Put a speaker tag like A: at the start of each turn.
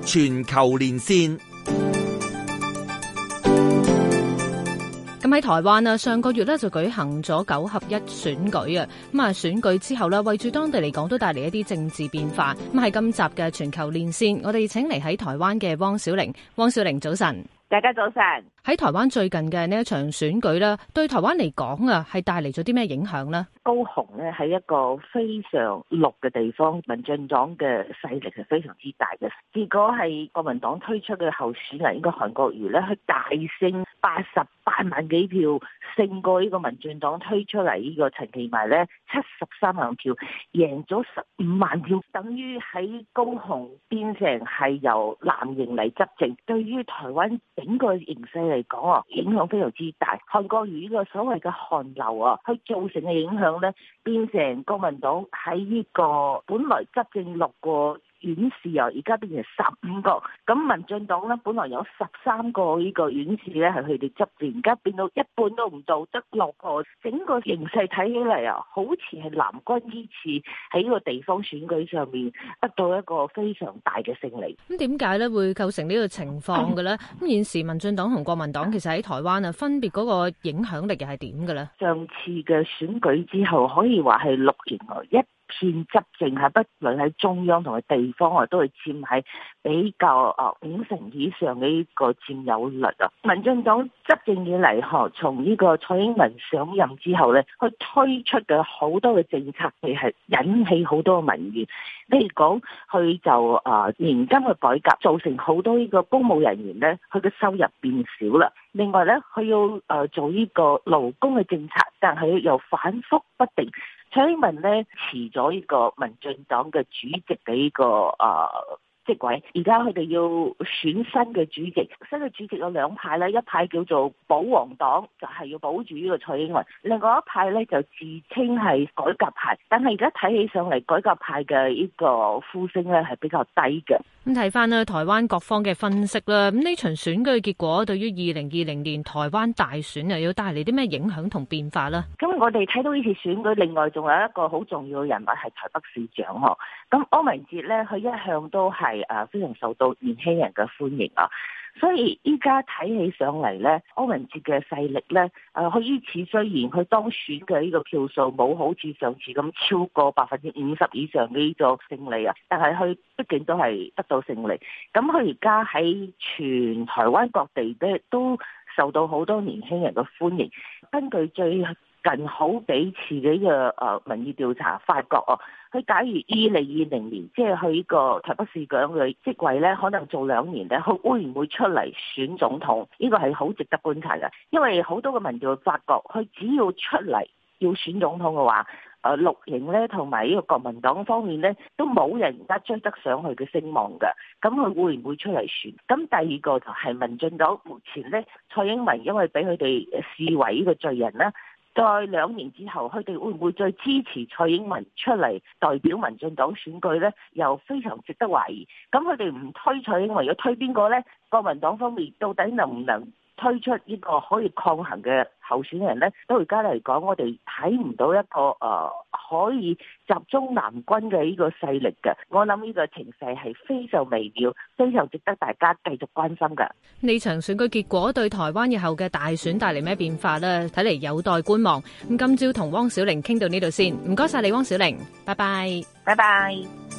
A: 全球連線。
B: 咁喺台灣啊，上個月咧就舉行咗9合1選舉啊。咁啊，選舉之後咧，為住當地嚟講都帶嚟一啲政治變化。咁喺今集嘅全球連線，我哋請嚟喺台灣嘅汪小玲。汪小玲，早晨。
C: 大家早晨。喺
B: 台灣最近嘅呢一場選舉咧，對台灣嚟講啊，係帶嚟咗啲咩影響呢？
C: 高雄咧係一個非常綠嘅地方，民進黨嘅勢力係非常之大嘅。結果係國民黨推出嘅候選人，應該韓國瑜咧，佢大勝88萬幾票，勝過呢個民進黨推出嚟呢個陳其邁咧73萬票，贏咗15萬票，等於喺高雄變成係由藍營嚟執政。對於台灣整個形勢嚟講啊，影響非常之大。韓國瑜呢個所謂嘅韓流啊，佢造成嘅影響咧，變成國民黨喺呢個本來執政6個縣市啊，而家變成15個。咁民進黨咧，本來有13個呢個縣市咧係佢哋執政，而家變到一半都唔到，得6個。整個形勢睇起嚟啊，好似係藍軍呢次喺呢個地方選舉上面得到一個非常大嘅勝利。
B: 咁點解咧會構成呢個情況嘅咧？咁現時民進黨同國民黨其實喺台灣啊，分別嗰個影響力又係點嘅咧？
C: 上次嘅選舉之後，可以話係6年來一片執政，係不論喺中央同埋地方啊，都係佔喺比較50%以上嘅呢個佔有率啊。民進黨執政以嚟，從呢個蔡英文上任之後咧，佢推出嘅好多嘅政策，係引起好多嘅民怨。例如講，佢就年金嘅改革，造成好多呢個公務人員咧，佢嘅收入變少啦。另外咧，佢要做呢個勞工嘅政策，但係又反覆不定。蔡英文咧辭咗呢個民進黨嘅主席嘅呢個職位，而家佢哋要選新嘅主席。新嘅主席有2派咧，一派叫做保皇黨，就係要保住呢個蔡英文；另外一派咧就自稱係改革派，但係而家睇起上嚟，改革派嘅呢個呼聲咧係比較低嘅。
B: 咁睇翻咧，台灣各方嘅分析啦，咁呢場選舉嘅結果對於2020年台灣大選又要帶嚟啲咩影響同變化呢？
C: 咁我哋睇到呢次選舉，另外仲有一個好重要嘅人物係台北市長嗬。咁柯文哲咧，佢一向都係非常受到年輕人嘅歡迎啊。所以依家睇起上嚟咧，柯文哲嘅勢力咧，佢呢次雖然佢當選嘅呢個票數冇好似上次咁超過50%以上嘅呢個勝利啊，但係佢畢竟都係得到勝利。咁佢而家喺全台灣各地咧都受到好多年輕人嘅歡迎。根據最近好幾次嘅呢個民意調查，發覺佢假如2020年即係佢呢個台北市長嘅職位咧，可能做2年咧，佢會唔會出嚟選總統？呢個係好值得觀察嘅，因為好多嘅民調發覺，佢只要出嚟要選總統嘅話，綠營咧同埋呢個國民黨方面咧，都冇人而家追得上佢嘅聲望嘅。咁佢會唔會出嚟選？咁第二個就係民進黨目前咧，蔡英文因為俾佢哋視為呢個罪人啦。在2年之後，佢哋會唔會再支持蔡英文出嚟代表民進黨選舉呢？又非常值得懷疑。咁佢哋唔推蔡英文，要推邊個呢？國民黨方面到底能唔能推出呢個可以抗衡嘅候選人呢？到而家嚟講，我哋睇唔到一個可以集中南軍嘅呢個勢力嘅。我諗呢個情勢係非常微妙，非常值得大家繼續關心嘅。
B: 呢場選舉結果對台灣日後嘅大選帶嚟咩變化呢？睇嚟有待觀望。咁今朝同汪小玲傾到呢度先，唔該晒你，汪小玲，拜拜，
C: 拜拜。